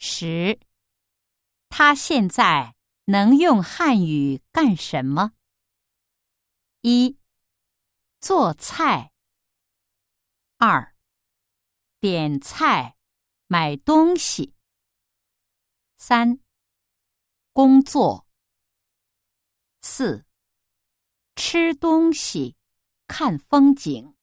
10. 他现在能用汉语干什么？1. 做菜。2. 点菜、买东西。3. 工作。4. 吃东西、看风景。